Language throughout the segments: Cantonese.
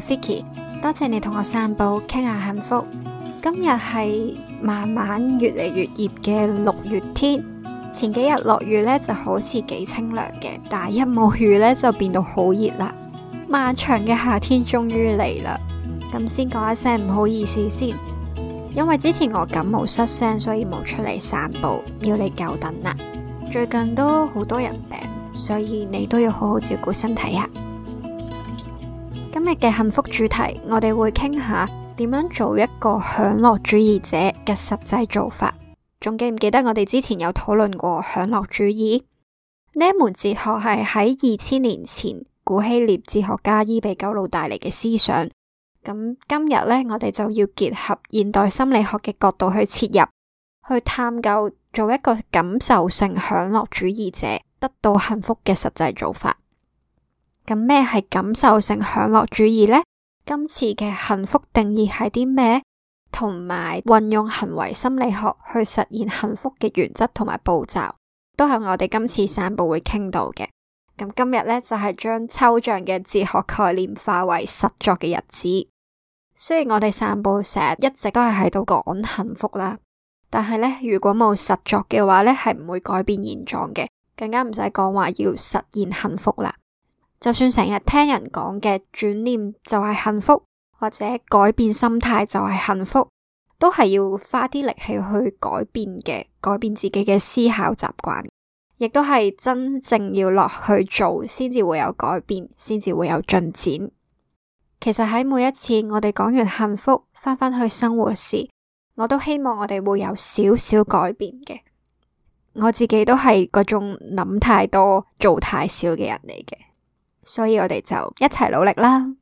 Vicky， 多謝你同我散步傾下幸福。今日係慢慢越嚟越熱嘅6月天，前幾日落雨呢就好似幾清涼嘅，但係一冇雨呢就變到好熱啦。漫長嘅夏天終於嚟啦，咁先講一聲唔好意思先，因為之前我感冒失聲，所以冇出嚟散步，要你久等啦。最近都好多人病，所以你都要好好照顧身體啊。今日嘅幸福主題，我哋會傾下點樣做一個享樂主義者嘅實際做法。仲記唔記得我哋之前有討論過享樂主義？呢一門哲學係喺2000年前古希臘哲學家伊比鳩魯帶嚟嘅思想。咁今日呢，我哋就要結合現代心理學嘅角度去切入，去探究做一個感受性享樂主義者得到幸福嘅實際做法。咁咩係感受性享樂主義呢？今次嘅幸福定義係啲咩？同埋運用行為心理學去實現幸福嘅原則同埋步驟，都係我哋今次散步會傾到嘅。咁今日呢，就係將抽象嘅哲學概念化為實作嘅日子。雖然我哋散步成日一直都係喺度講幸福啦，但係呢，如果冇實作嘅話呢，係唔會改變現狀嘅，更加唔使講話要實現幸福啦。就算成日聽人講嘅轉念就係幸福，或者改變心態就係幸福，都係要花啲力氣去改變嘅，改變自己嘅思考習慣，亦都係真正要落去做，先至會有改變，先至會有進展。其實喺每一次我哋講完幸福，返去生活時，我都希望我哋會有少少改變嘅。我自己都係嗰種諗太多做太少嘅人嚟嘅，所以我哋就一齊努力啦。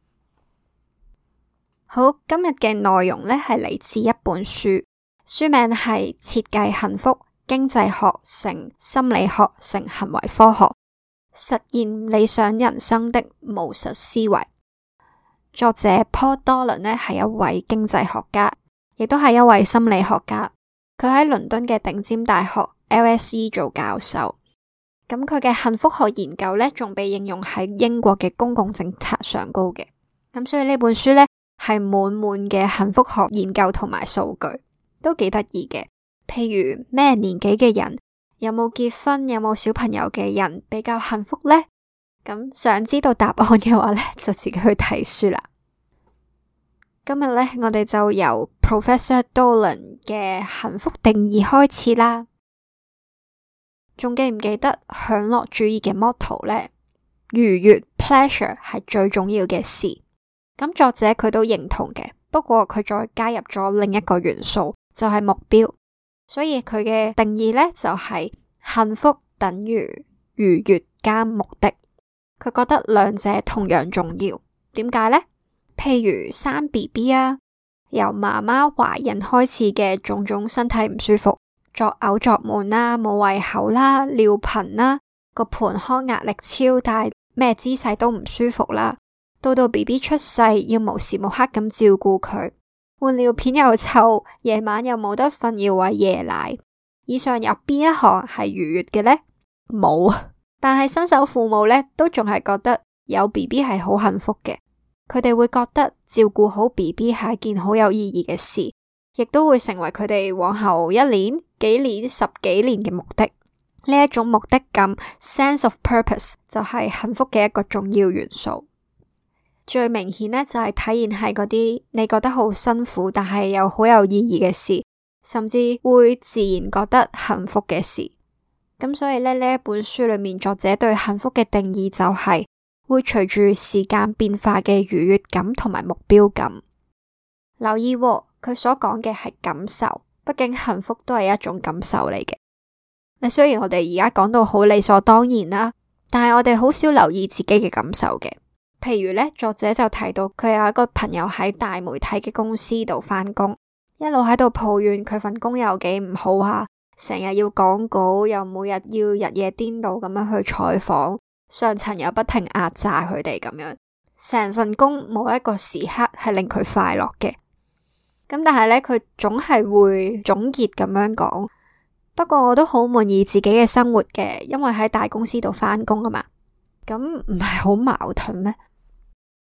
好，今日嘅內容呢係嚟自一本書，書名係《設計幸福：經濟學乘心理學乘行為科學，實現理想人生的務實思維》。作者 Paul Dolan 呢係一位經濟學家，亦都係一位心理學家。佢喺倫敦嘅頂尖大學 LSE 做教授。咁佢嘅幸福學研究呢，仲被應用喺英國嘅公共政策上高嘅。咁所以呢本書呢，係滿嘅幸福學研究同埋數據，都幾得意嘅。譬如咩年紀嘅人，有冇結婚，有冇小朋友嘅人比較幸福呢？咁想知道答案嘅話呢，就自己去睇書啦。今日呢，我哋就由 Professor Dolan 嘅幸福定義開始啦。仲記唔記得享樂主義嘅 motto 呢？愉悅 pleasure 係最重要嘅事。咁作者佢都認同嘅，不過佢再加入咗另一個元素，就係目標。所以佢嘅定義呢，就係幸福等於愉悅加目的。佢覺得兩者同樣重要。點解呢？譬如生 BB 啊，由媽媽懷孕開始嘅種種身體唔舒服，作嘔作悶啦，冇胃口啦，尿頻啦，個盆腔壓力超大，咩姿勢都唔舒服啦。到 BB 出世，要無時無刻咁照顧佢，換尿片又臭，夜晚又冇得瞓，要餵夜奶。以上有邊一項係愉悅嘅呢？冇。但係新手父母呢，都仲係覺得有 BB 係好幸福嘅。佢哋會覺得照顧好 BB 係一件好有意義嘅事，亦都會成為佢哋往後1年、幾年、10幾年嘅目的。呢一種目的感 （sense of purpose） 就係幸福嘅一個重要元素。最明顯呢，就係體現喺嗰啲你覺得好辛苦，但係又好有意義嘅事，甚至會自然覺得幸福嘅事。咁所以呢一本書裏面，作者對幸福嘅定義就係會隨住時間變化嘅愉悅感同埋目標感。留意喎，佢所講嘅係感受，畢竟幸福都係一種感受嚟嘅。雖然我哋而家講到好理所當然啦，但係我哋好少留意自己嘅感受嘅。譬如呢，作者就提到佢有一個朋友喺大媒體嘅公司度返工，一路喺度抱怨佢份工有幾唔好啊，成日要講稿，又每日要日夜顛倒咁樣去採訪，上層又不停壓榨佢哋咁樣，成份工冇一個時刻係令佢快樂嘅。咁但係呢，佢總係會總結咁樣講，不過我都好滿意自己嘅生活嘅，因為喺大公司度返工啊嘛。咁唔係好矛盾咩？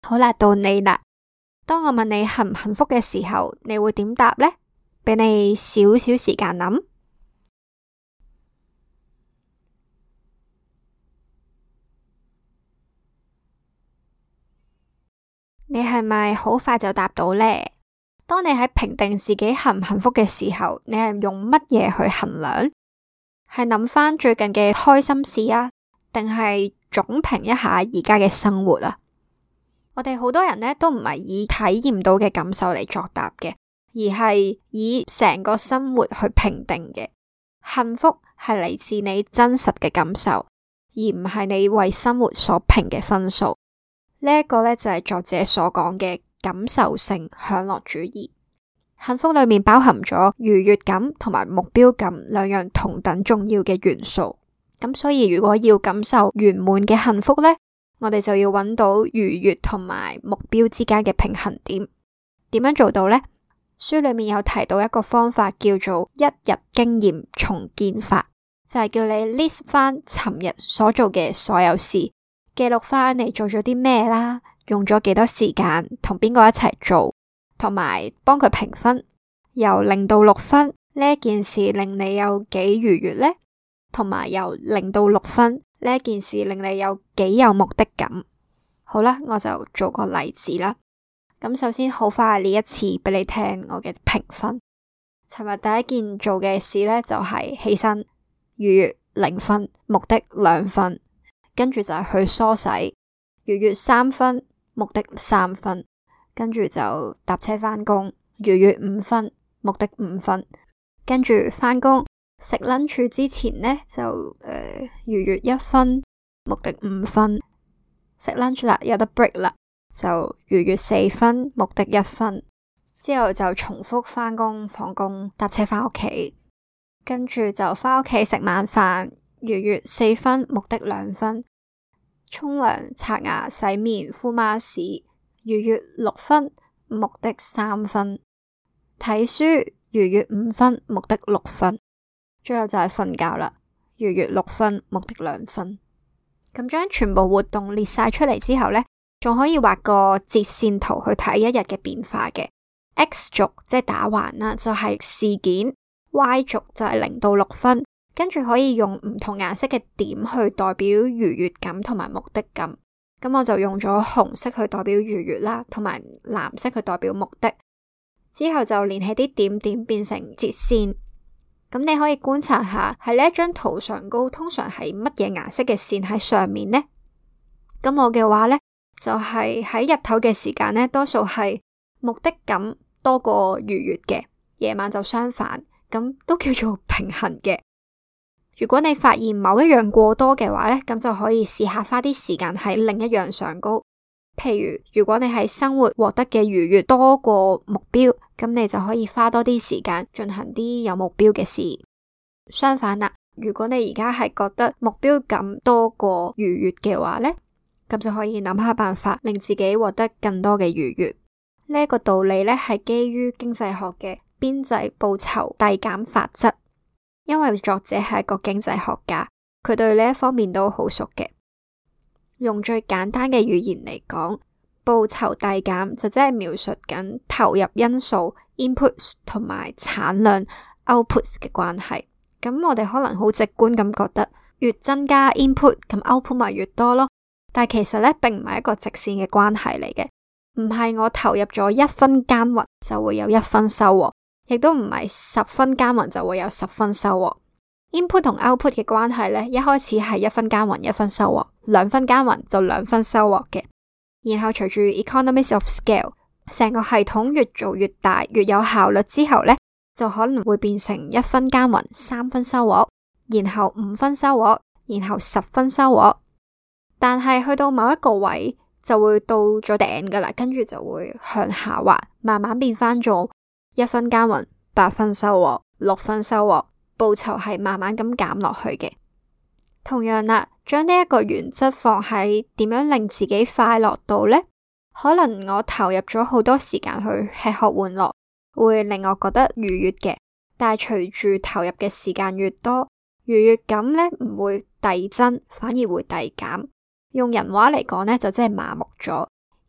好啦，到你啦。當我問你幸唔幸福嘅時候，你會點答呢？俾你少少時間諗。你係咪好快就答到呢？當你喺評定自己幸唔幸福嘅時候，你係用乜嘢去衡量？係諗翻最近嘅開心事啊，定係總評一下而家嘅生活啊？我哋好多人呢都唔係以體驗到嘅感受嚟作答嘅，而係以成個生活去評定嘅。幸福係嚟自你真實嘅感受，而唔係你為生活所評嘅分數。呢一個呢，就係作者所講嘅感受性享樂主義。幸福裏面包含咗愉悅感同埋目標感兩樣同等重要嘅元素。咁所以如果要感受圓滿嘅幸福呢，我哋就要揾到愉悅同埋目標之間嘅平衡點。點樣做到呢？書裏面有提到一個方法叫做一日經驗重建法，就係叫你 list 翻尋日所做嘅所有事，記錄翻你做咗啲咩啦，用咗幾多時間，同邊個一齊做，同埋幫佢評分，由0到6分，呢一件事令你有幾愉悅呢？同埋由0到6分，呢一件事令你有幾有目的感。好啦，我就做個例子啦。咁首先好快列一次俾你聽我嘅評分。尋日第一件做嘅事呢，就係起身，愉悅0分，目的2分，跟住就係去梳洗，愉悅3分，目的3分，跟住就搭車返工，愉悅5分，目的5分，跟住返工食 lunch 之前呢，就愉悅1分，目的5分，食 lunch 啦，有得 break 啦，就愉悅4分，目的1分，之後就重複返工放工搭車返屋企，跟住就返屋企食晚飯，愉悅4分，目的2分，沖涼刷牙洗面敷 mask，愉悅6分，目的3分，睇書愉悅5分，目的6分，最後就係瞓覺啦，愉悅6分，目的2分。咁將全部活動列晒出嚟之後呢，仲可以畫個折線圖去睇一日嘅變化嘅。X 軸即係打橫啦，就係事件；Y 軸就係0到6分，跟住可以用唔同顏色嘅點去代表愉悅感同埋目的感。咁我就用咗紅色去代表愉悅啦，同埋藍色去代表目的。之後就連起啲點點變成折線。咁你可以觀察下喺呢一張圖上高，通常係乜嘢顏色嘅線喺上面呢？咁我嘅話呢，就係喺日頭嘅時間呢，多數係目的感多過愉悅嘅，夜晚就相反，咁都叫做平衡嘅。如果你發現某一樣過多嘅話呢，咁就可以試下花啲時間喺另一樣上高。譬如如果你喺生活獲得嘅愉悅多過目標，咁你就可以花多啲時間進行啲有目標嘅事。相反啦，如果你而家係覺得目標感多過愉悅嘅話呢，咁就可以諗下辦法令自己獲得更多嘅愉悅。呢一個道理呢，係基於經濟學嘅邊際報酬遞減法則，因為作者係一個經濟學家，佢對呢一方面都好熟嘅。用最簡單嘅語言嚟講，報酬遞減就即係描述緊投入因素 inputs 同埋產量 outputs 嘅關係。咁我哋可能好直觀咁覺得，越增加 input 咁 output 咪越多咯。但係其實呢，並唔係一個直線嘅關係嚟嘅，唔係我投入咗1分耕耘就會有1分收穫，亦都唔係10分耕耘就會有10分收穫。Input 同 output 嘅關係呢，一開始係1分耕耘1分收穫，2分耕耘就2分收穫嘅。然後隨住 economies of scale， 成個系統越做越大，越有效率之後呢，就可能會變成1分耕耘3分收穫，然後5分收穫，然後10分收穫。但係去到某一個位就會到咗頂噶啦，跟住就會向下滑，慢慢變翻做1分耕耘8分收穫，6分收穫。報酬係慢慢咁減落去嘅。同樣啦，將呢一個原則放喺點樣令自己快樂度呢？可能我投入咗好多時間去吃喝玩樂，會令我覺得愉悅嘅。但係隨住投入嘅時間越多，愉悅感呢唔會遞增，反而會遞減。用人話嚟講呢，就真係麻木咗。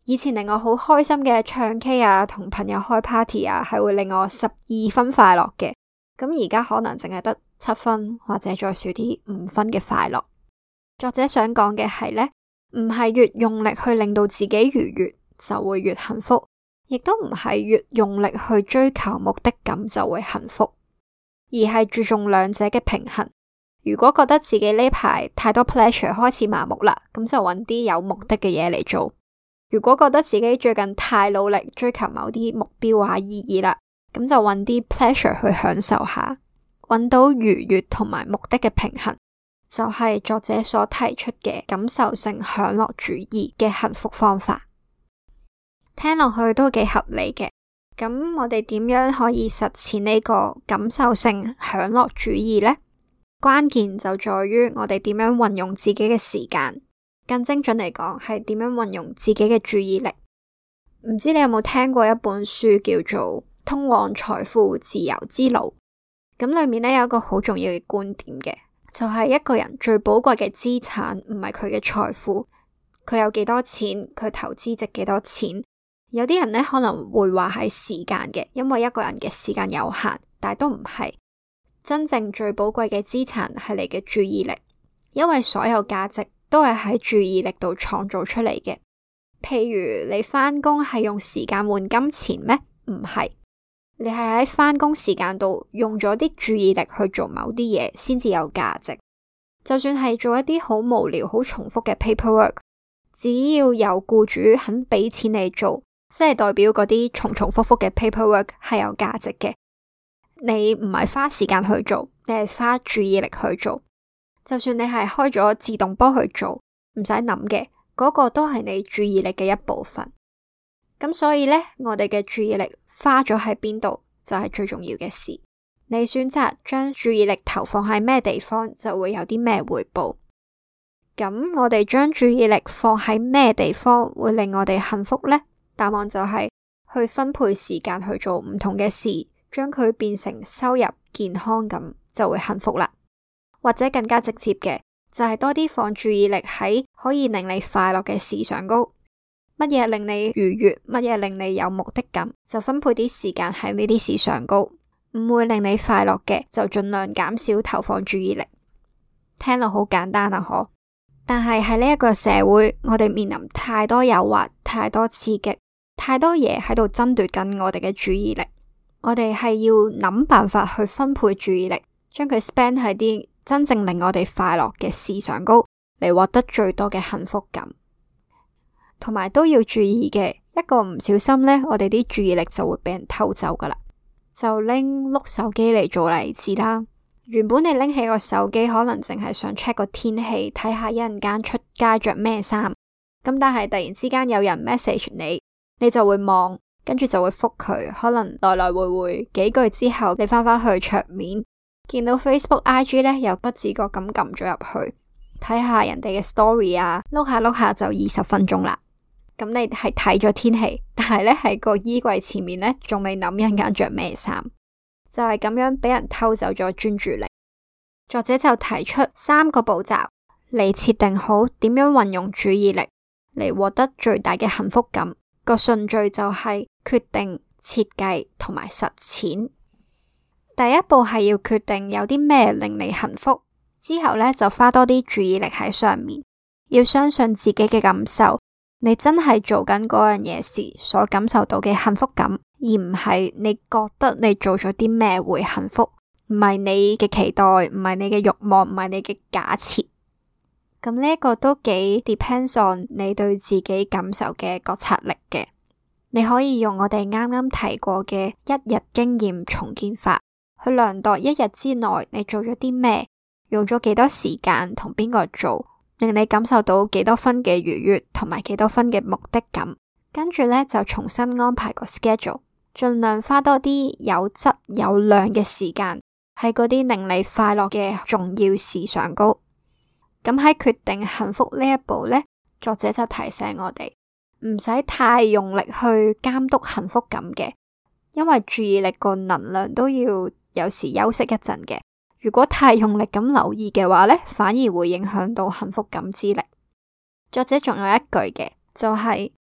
以前令我好開心嘅唱 K 啊，同朋友開 party 啊，係會令我12分快樂嘅。咁而家可能淨係得7分，或者再少啲5分嘅快樂。作者想講嘅係呢，唔係越用力去令到自己愉悅就會越幸福，亦都唔係越用力去追求目的感就會幸福，而係注重兩者嘅平衡。如果覺得自己呢排太多 pleasure 開始麻木啦，咁就揾啲有目的嘅嘢嚟做。如果覺得自己最近太努力追求某啲目標啊意義啦，咁就揾啲 pleasure 去享受下，揾到愉悅同埋目的嘅平衡，就係作者所提出嘅感受性享樂主義嘅幸福方法。聽落去都幾合理嘅。咁我哋點樣可以實踐呢個感受性享樂主義呢？關鍵就在於我哋點樣運用自己嘅時間，更精準嚟講係點樣運用自己嘅注意力。唔知你有冇聽過一本書叫做《通往財富自由之路》？咁裏面呢有一個好重要嘅觀點嘅，就係一個人最寶貴嘅資產唔係佢嘅財富，佢有幾多錢，佢投資值幾多錢。有啲人呢可能會話係時間嘅，因為一個人嘅時間有限，但係都唔係。真正最寶貴嘅資產係你嘅注意力，因為所有價值都係喺注意力度創造出嚟嘅。譬如你返工係用時間換金錢咩？唔係，你係喺返工時間度用咗啲注意力去做某啲嘢，先至有價值。就算係做一啲好無聊、好重複嘅 paperwork， 只要有僱主肯俾錢你做，即係代表嗰啲重重複複嘅 paperwork 係有價值嘅。你唔係花時間去做，你係花注意力去做。就算你係開咗自動波去做，唔使諗嘅，嗰個都係你注意力嘅一部分。咁所以呢，我哋嘅注意力花咗喺邊度，就係最重要嘅事。你選擇將注意力投放喺咩地方，就會有啲咩回報。咁我哋將注意力放喺咩地方會令我哋幸福呢？答案就係去分配時間去做唔同嘅事，將佢變成收入、健康咁就會幸福啦。或者更加直接嘅，就係多啲放注意力喺可以令你快樂嘅事上高。乜嘢令你愉悅，乜嘢令你有目的感，就分配啲時間喺呢啲事上高。唔會令你快樂嘅，就盡量減少投放注意力。聽落好簡單啊，嗬？但係喺呢一個社會，我哋面臨太多誘惑，太多刺激，太多嘢喺度爭奪緊我哋嘅注意力。我哋係要諗辦法去分配注意力，將佢 spend 喺啲真正令我哋快樂嘅事上高，嚟獲得最多嘅幸福感。同埋都要注意嘅，一個唔小心呢，我哋啲注意力就會俾人偷走噶啦。就拎碌手機嚟做例子啦。原本你拎起個手機，可能淨係想 check 個天氣，睇下一陣間出街着咩衫。咁但係突然之間有人 message 你，你就會望，跟住就會覆佢。可能來來回回幾句之後，你翻返去桌面，見到 Facebook、IG 呢，又不自覺咁撳咗入去，睇下人哋嘅 story 啊，碌下碌下就20分鐘啦。咁你係睇咗天氣，但係呢喺個衣櫃前面呢，仲未諗一陣間着咩衫，就係咁樣俾人偷走咗專注力。作者就提出3個步驟嚟設定好點樣運用注意力嚟獲得最大嘅幸福感。個順序就係決定、設計同埋實踐。第一步係要決定有啲咩令你幸福，之後呢，就花多啲注意力喺上面，要相信自己嘅感受。你真係做緊嗰樣嘢時所感受到嘅幸福感，而唔係你覺得你做咗啲咩會幸福，唔係你嘅期待，唔係你嘅慾望，唔係你嘅假設。咁呢一個都幾 depends on 你對自己感受嘅覺察力嘅。你可以用我哋啱啱提過嘅1日經驗重建法去量度1日之內你做咗啲咩，用咗幾多時間，同邊個做，令你感受到幾多分嘅愉悅同埋幾多分嘅目的感，跟住呢，就重新安排個 schedule， 盡量花多啲有質有量嘅時間喺嗰啲令你快樂嘅重要事上高。咁喺決定幸福呢一步呢，作者就提醒我哋唔使太用力去監督幸福感嘅，因為注意力個能量都要有時休息一陣嘅。如果太用力咁留意嘅話呢，反而會影響到幸福感之力。作者仲有一句嘅，就係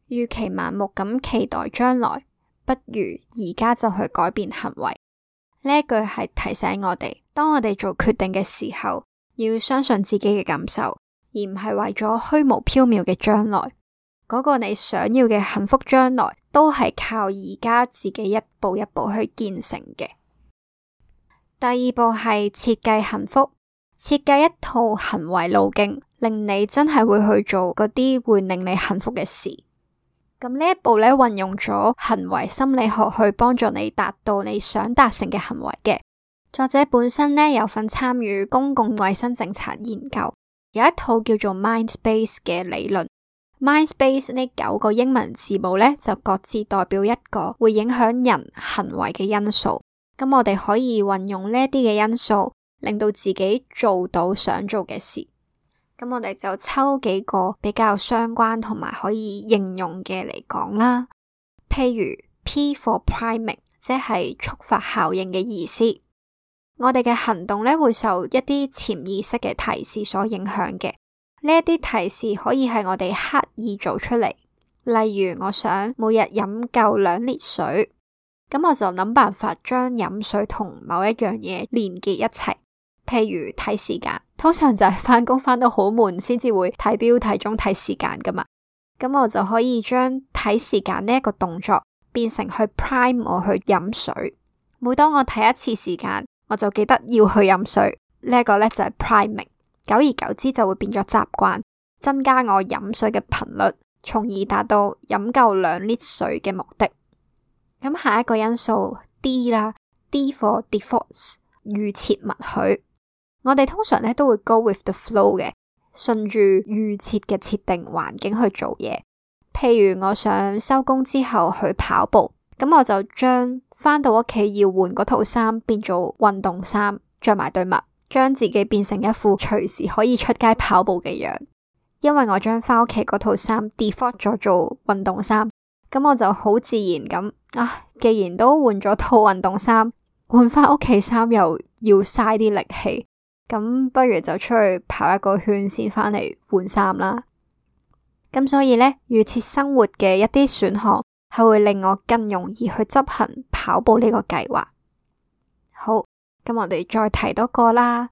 與其盲目咁期待將來，不如而家就去改變行為。呢一句係提醒我哋，當我哋做決定嘅時候，要相信自己嘅感受，而唔係為咗虛無縹緲嘅將來。嗰個你想要嘅幸福將來，都係靠而家自己一步一步去建成嘅。第二步係設計幸福，設計一套行為路徑，令你真係會去做嗰啲會令你幸福嘅事。咁呢一步呢，運用咗行為心理學去幫助你達到你想達成嘅行為嘅。作者本身呢，有份參與公共衛生政策研究，有一套叫做 Mindspace 嘅理論。Mindspace 呢9個英文字母呢，就各自代表一個會影響人行為嘅因素。咁我哋可以運用呢啲嘅因素，令到自己做到想做嘅事。咁我哋就抽幾個比較相關同埋可以應用嘅嚟講啦。譬如 P for priming， 即係觸發效應嘅意思。我哋嘅行動呢，會受一啲潛意識嘅提示所影響嘅。呢一啲提示可以係我哋刻意做出嚟，例如我想每日飲夠2 lit 水，咁我就諗辦法將飲水同某一樣嘢連結一齊。譬如睇時間，通常就係返工返到好悶先至會睇錶睇鐘睇時間噶嘛，咁我就可以將睇時間呢一個動作變成去 prime 我去飲水。每當我睇一次時間，我就記得要去飲水，呢一個呢就係 priming。久而久之就會變咗習慣，增加我飲水嘅頻率，從而達到飲夠2 lit 水嘅目的。咁下一個因素 D 啦 ，D for defaults， 預設默許。我哋通常咧都會 go with the flow 嘅，順住預設嘅設定環境去做嘢。譬如我想收工之後去跑步，咁我就將返到屋企要換嗰套衫變做運動衫，着埋對襪。將自己變成一副隨時可以出街跑步嘅樣，因為我將返屋企嗰套衫 default 咗做運動衫，咁我就好自然咁既然都換咗套運動衫，換返屋企衫又要嘥啲力氣，咁不如就出去跑一個圈先返嚟換衫啦。咁所以呢，預設生活嘅一啲選項係會令我更容易去執行跑步呢個計劃。好。咁我哋再提多個啦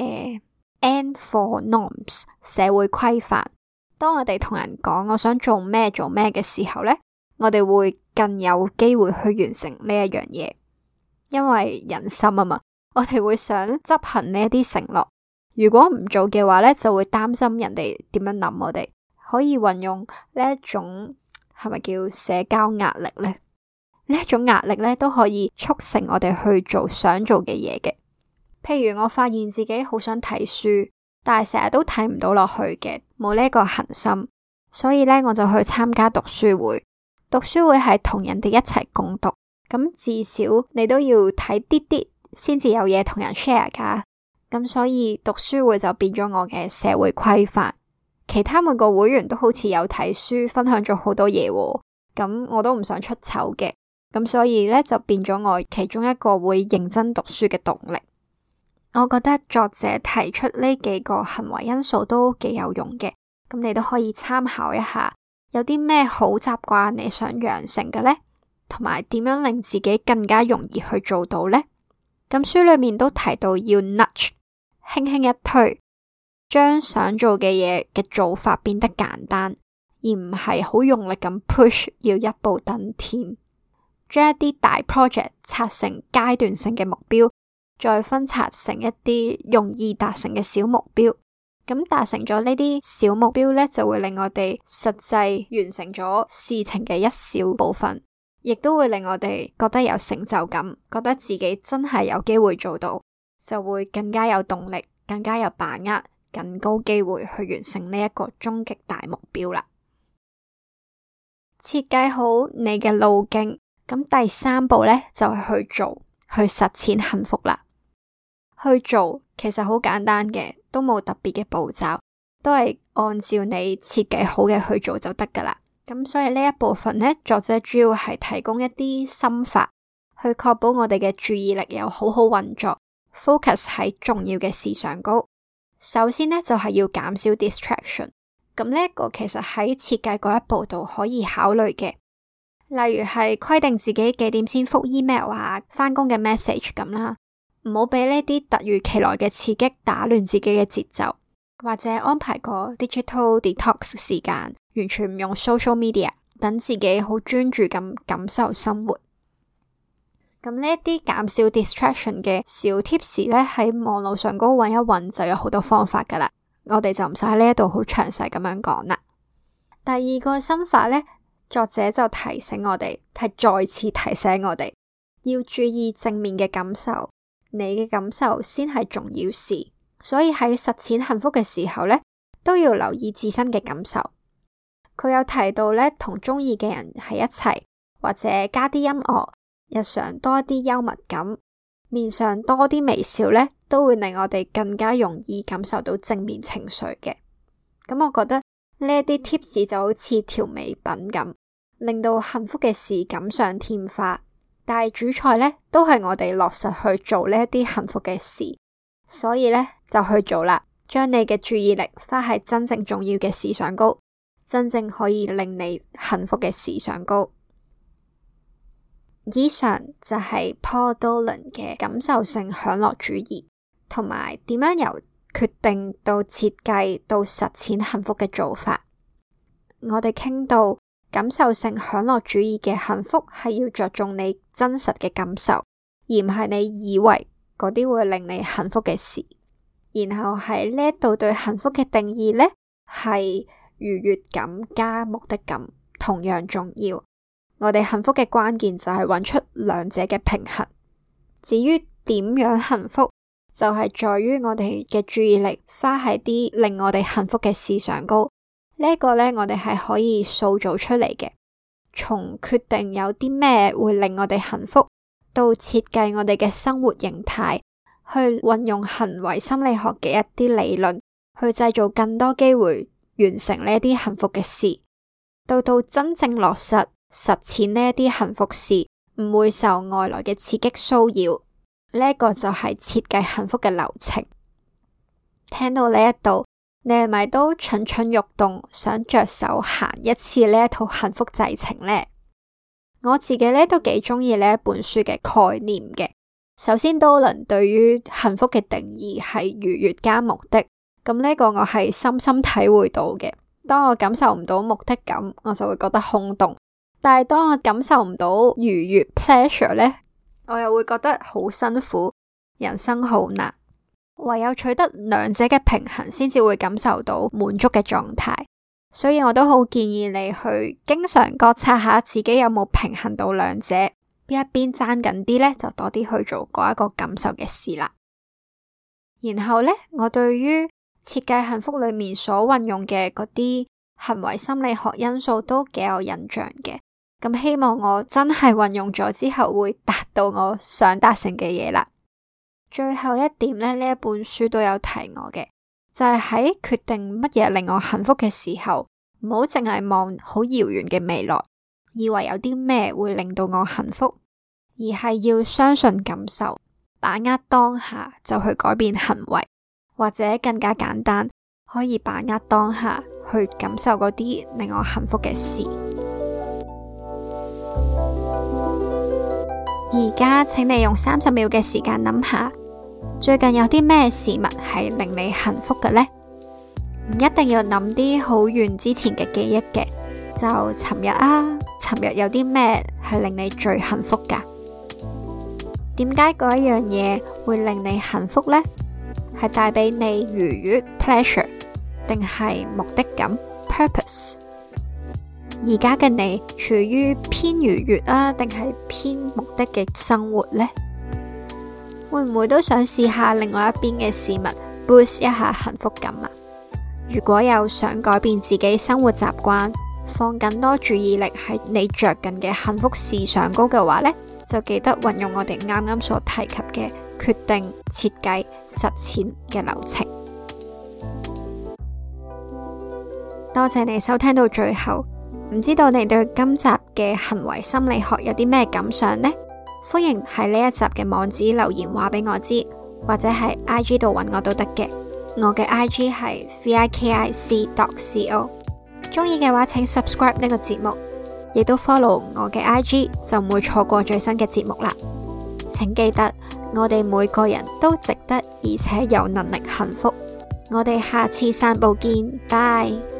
，N for norms， 社會規範。當我哋同人講我想做咩嘅時候呢，我哋會更有機會去完成呢一樣嘢，因為人心啊嘛，我哋會想執行呢一啲承諾。如果唔做嘅話呢，就會擔心人哋點樣諗我哋。可以運用呢一種係咪叫社交壓力呢？呢一種壓力呢，都可以促成我哋去做想做嘅嘢嘅。譬如我發現自己好想睇書，但係成日都睇唔到落去嘅，冇呢個恆心，所以呢，我就去參加讀書會。讀書會係同人哋一齊共讀，咁至少你都要睇啲啲先至有嘢同人 share 噶。咁所以讀書會就變咗我嘅社會規範。其他每個會員都好似有睇書，分享咗好多嘢喎，咁我都唔想出醜嘅。咁所以呢，就變咗我其中一個會認真讀書嘅動力。我覺得作者提出呢幾個行為因素都幾有用嘅，咁你都可以參考一下，有啲咩好習慣你想養成嘅呢？同埋點樣令自己更加容易去做到呢？咁書裏面都提到要 nudge， 輕輕一推，將想做嘅嘢嘅做法變得簡單，而唔係好用力咁 push， 要一步登天。將一啲大 project 拆成階段性嘅目標，再分拆成一啲容易達成嘅小目標。咁達成咗呢啲小目標呢，就會令我哋實際完成咗事情嘅一小部分，亦都會令我哋覺得有成就感，覺得自己真係有機會做到，就會更加有動力，更加有把握，更高機會去完成呢一個終極大目標啦。設計好你嘅路徑。咁第三步呢，就係去做，去實踐幸福啦。去做其實好簡單嘅，都冇特別嘅步驟，都係按照你設計好嘅去做就得噶啦。咁所以呢一部分呢，作者主要係提供一啲心法，去確保我哋嘅注意力有好好運作 ，focus 喺重要嘅事上高。首先呢，就係要減少 distraction， 咁呢一個其實喺設計嗰一步度可以考慮嘅，例如係規定自己幾點先覆 email 啊，返工嘅 message 咁啦，唔好俾呢啲突如其來嘅刺激打亂自己嘅節奏，或者安排個 digital detox 時間，完全唔用 social media， 等自己好專注咁感受生活。咁呢一啲減少 distraction 嘅小 tips 咧，喺網路上嗰搵一搵就有好多方法噶啦。我哋就唔使喺呢一度好詳細咁樣講啦。第二個心法呢，作者就提醒我哋，係再次提醒我哋要注意正面嘅感受，你嘅感受先係重要事。所以喺實踐幸福嘅時候呢，都要留意自身嘅感受。佢有提到呢，同中意嘅人喺一齊，或者加啲音樂，日常多啲幽默感，面上多啲微笑呢，都會令我哋更加容易感受到正面情緒嘅。咁我覺得呢一啲 tips 就好似調味品咁，令到幸福嘅事錦上添花。但係主菜呢，都係我哋落實去做呢一啲幸福嘅事，所以呢，就去做啦，將你嘅注意力花喺真正重要嘅事上高，真正可以令你幸福嘅事上高。以上就係 Paul Dolan 嘅感受性享樂主義，同埋點樣由決定到設計到實踐幸福嘅做法。我哋傾到感受性享樂主義嘅幸福係要着重你真實嘅感受，而唔係你以為嗰啲會令你幸福嘅事。然後喺呢一度對幸福嘅定義呢，係愉悅感加目的感同樣重要。我哋幸福嘅關鍵就係揾出兩者嘅平衡。至於點樣幸福，就係在於我哋嘅注意力花喺啲令我哋幸福嘅事上高。呢個呢，我哋係可以塑造出嚟嘅。從決定有啲咩會令我哋幸福，到設計我哋嘅生活形態，去運用行為心理學嘅一啲理論，去製造更多機會完成呢一啲幸福嘅事，到真正落實實踐呢一啲幸福事，唔會受外來嘅刺激騷擾。呢一個就係設計幸福嘅流程。聽到呢一度，你係咪都蠢蠢欲動，想着手行一次呢一套幸福製程呢？我自己呢都幾中意呢一本書嘅概念嘅。首先，Dolan對於幸福嘅定義係愉悅加目的，咁呢個我係深深體會到嘅。當我感受唔到目的感，我就會覺得空洞。但係當我感受唔到愉悅 pleasure 呢，我又會覺得好辛苦，人生好難。唯有取得兩者嘅平衡，先至會感受到滿足嘅狀態。所以我都好建議你去經常覺察下自己有冇平衡到兩者，邊一邊爭緊啲呢，就多啲去做嗰一個感受嘅事啦。然後呢，我對於設計幸福裏面所運用嘅嗰啲行為心理學因素都幾有印象嘅。咁希望我真係運用咗之後會達到我想達成嘅嘢啦。最後一點呢，呢一本書都有提我嘅，就係喺決定乜嘢令我幸福嘅時候，唔好淨係望好遙遠嘅未來，以為有啲咩會令到我幸福，而係要相信感受，把握當下就去改變行為，或者更加簡單，可以把握當下去感受嗰啲令我幸福嘅事。而家請你用30秒嘅時間諗下，最近有啲咩事物係令你幸福嘅呢？唔一定要諗啲好遠之前嘅記憶嘅，就尋日啊，尋日有啲咩係令你最幸福噶？點解嗰一樣嘢會令你幸福呢？係帶俾你愉悅 pleasure， 定係目的感 purpose？而家嘅你處於偏愉悅啊，定係偏目的嘅生活呢？會唔會都想試下另外一邊嘅事物 boost 一下幸福感啊？如果有想改變自己生活習慣，放更多注意力喺你着緊嘅幸福事上高嘅話呢，就記得運用我哋啱啱所提及嘅決定、設計、實踐嘅流程。多謝你收聽到最後。唔知道你對今集嘅行為心理學有啲咩感想呢？歡迎喺呢一集嘅網址留言話俾我知，或者喺 IG 度揾我都得嘅。 我嘅 IG 係 vikic.co。鍾意嘅話，請 subscribe 呢個節目，亦都 follow 我嘅 IG，就唔會錯過最新嘅節目啦。請記得，我哋每個人都值得而且有能力幸福。我哋下次散步見，拜。